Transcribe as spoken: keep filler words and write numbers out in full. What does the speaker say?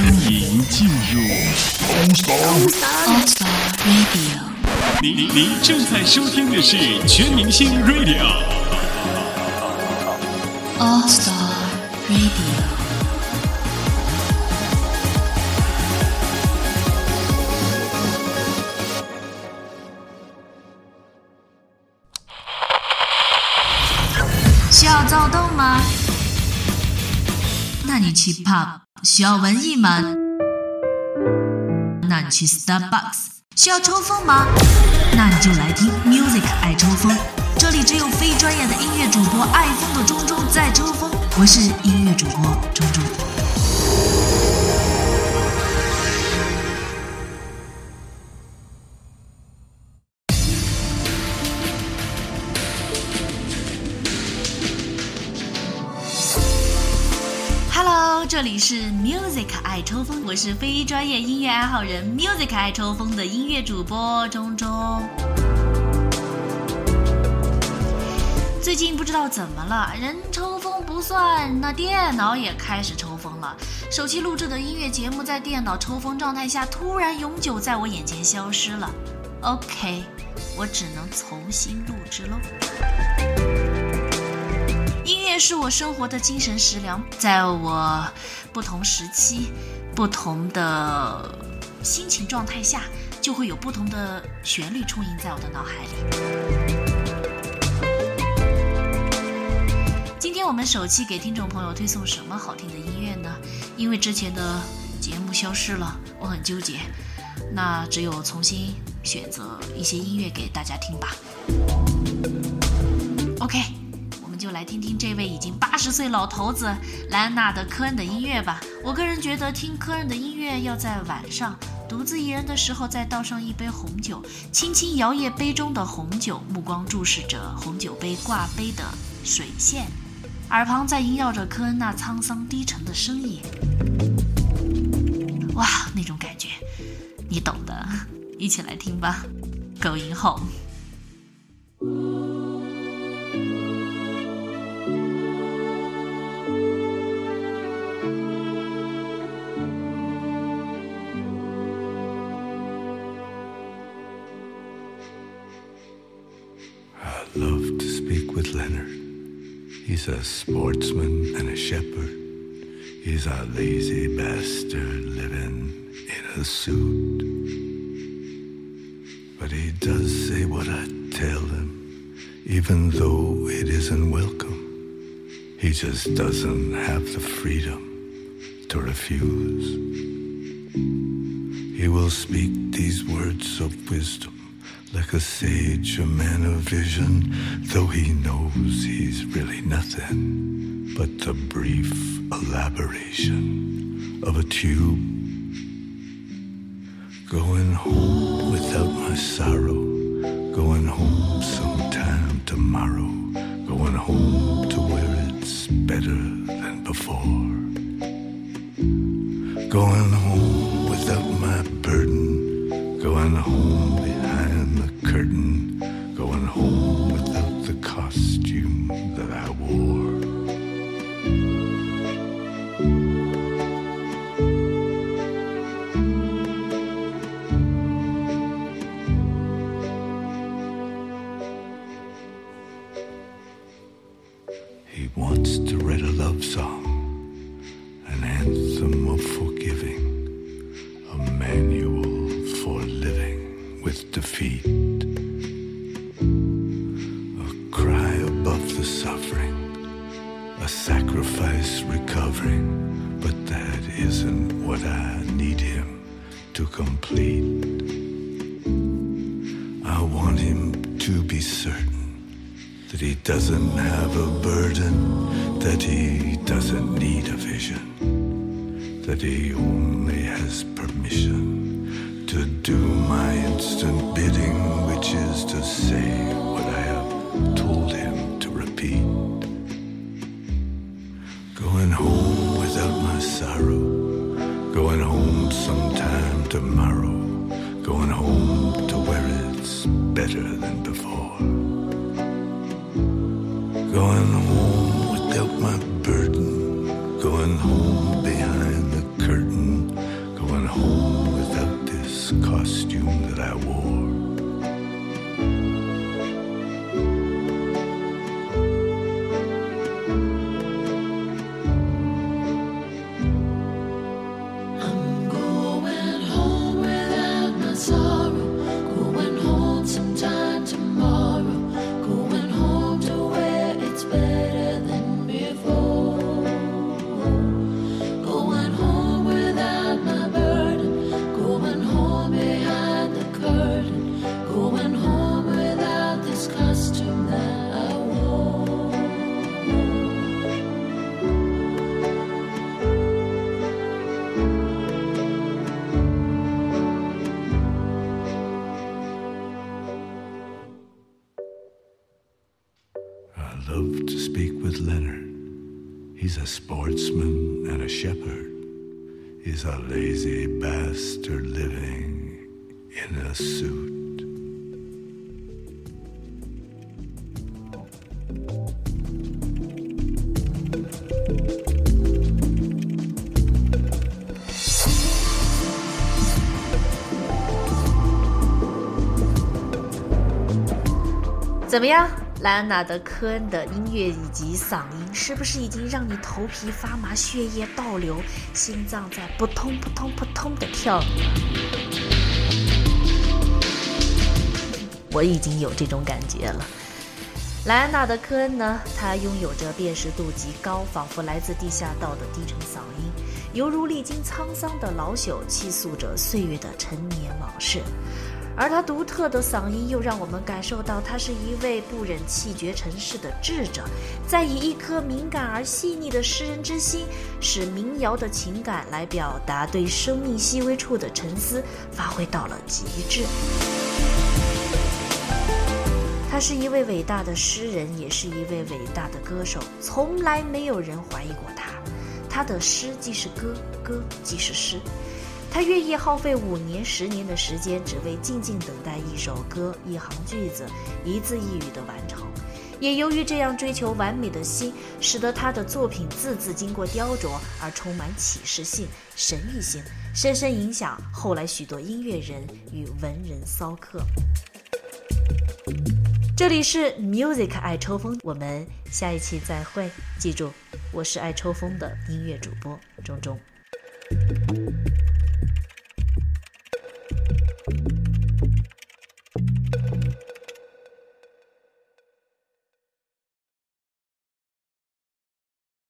欢迎进入 All Star Radio。您您正在收听的是全明星 Radio。All Star Radio。 需要躁动吗？那你去 pub。需要文艺吗？那你去 Starbucks。 需要抽风吗？那你就来听 Music 爱抽风，这里只有非专业的音乐主播爱疯的钟钟在抽风。我是音乐主播钟钟。Hello， 这里是 Music 爱抽风，我是非专业音乐爱好人 Music 爱抽风的音乐主播钟钟。最近不知道怎么了，人抽风不算，那电脑也开始抽风了。手机录制的音乐节目在电脑抽风状态下突然永久在我眼前消失了。 OK， 我只能重新录制咯。音乐是我生活的精神食粮，在我不同时期、不同的心情状态下，就会有不同的旋律充盈在我的脑海里。今天我们首期给听众朋友推送什么好听的音乐呢？因为之前的节目消失了，我很纠结，那只有重新选择一些音乐给大家听吧。 OK，就来听听这位已经八十岁老头子莱昂纳德·科恩的音乐吧。我个人觉得听科恩的音乐要在晚上独自一人的时候，再倒上一杯红酒，轻轻摇曳杯中的红酒，目光注视着红酒杯挂杯的水线，耳旁在萦绕着科恩那沧桑低沉的声音。哇，那种感觉你懂的，一起来听吧。 Going Home。 Love to speak with Leonard. He's a sportsman and a shepherd. He's a lazy bastard living in a suit. But he does say what I tell him, even though it isn't welcome. He just doesn't have the freedom to refuse. He will speak these words of wisdom like a sage, a man of vision, though he knows he's really nothing but the brief elaboration of a tube. Going home without my sorrow, going home sometime tomorrow, going home to where it's better than before. Going home without my burden, going home behind the curtain, going home without the costume that I wore. He wants to write a love song, an anthem of forgiving, a manual for living with defeat, a cry above the suffering, a sacrifice recovering, but that isn't what I need him to complete. I want him to be certain that he doesn't have a burden, that he doesn't need a vision, that he only has permission to do my instant bidding, which is to say what I have told him to repeat. Going home without my sorrow, going home sometime tomorrow, going home to where it's better than before. Going home without my burden, going home behind the curtain, this costume that I wore. I love to speak with Leonard. He's a sportsman and a shepherd. He's a lazy bastard living in a suit. 怎么样？莱昂纳德·科恩的音乐以及嗓音是不是已经让你头皮发麻、血液倒流、心脏在扑通扑通扑通的跳呢？我已经有这种感觉了。莱昂纳德·科恩呢，他拥有着辨识度极高，仿佛来自地下道的低沉嗓音，犹如历经沧桑的老朽，倾诉着岁月的陈年往事。而他独特的嗓音又让我们感受到他是一位不忍弃绝尘世的智者，在以一颗敏感而细腻的诗人之心，使民谣的情感来表达对生命细微处的沉思，发挥到了极致。他是一位伟大的诗人，也是一位伟大的歌手，从来没有人怀疑过他。他的诗既是歌，歌即是诗。他愿意耗费五年、十年的时间，只为静静等待一首歌、一行句子、一字一语的完成。也由于这样追求完美的心，使得他的作品字字经过雕琢而充满启示性、神秘性，深深影响后来许多音乐人与文人骚客。这里是 Music 爱抽风，我们下一期再会。记住，我是爱抽风的音乐主播钟钟。